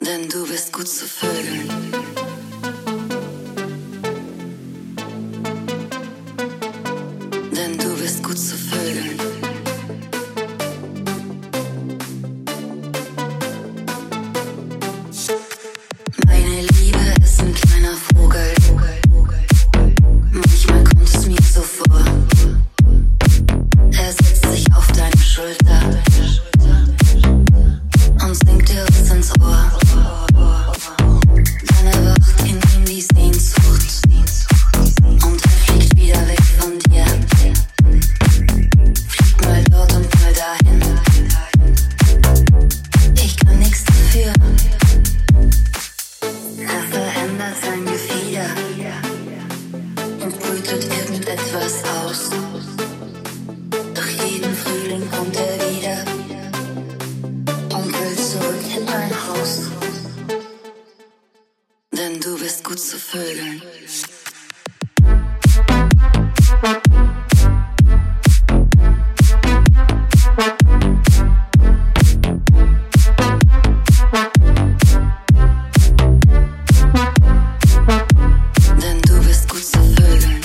denn du bist gut zu vögeln. Denn du bist gut zu vögeln. Meine Liebe ist ein kleiner Vogel. Manchmal kommt es mir so vor. Er setzt sich auf deine Schulter und singt dir was ins Ohr. Dann erwacht in ihm die Sehnsucht und er fliegt wieder weg von dir. Fliegt mal dort und mal dahin. Ich kann nichts dafür. Er verändert sein Gefieder und brütet irgendetwas aus. Doch jeden Frühling kommt er wieder und will zurück in dein Haus. Denn du bist gut zu vögeln. Denn du bist gut zu vögeln.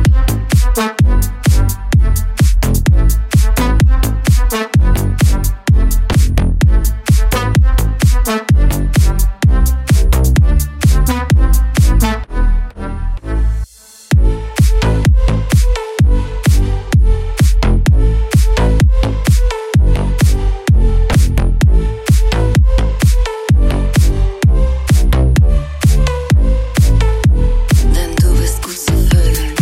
Denn du bist gut zu vögeln.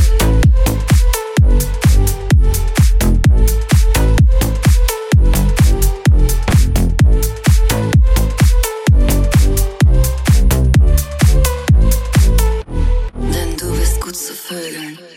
Denn du bist gut zu vögeln.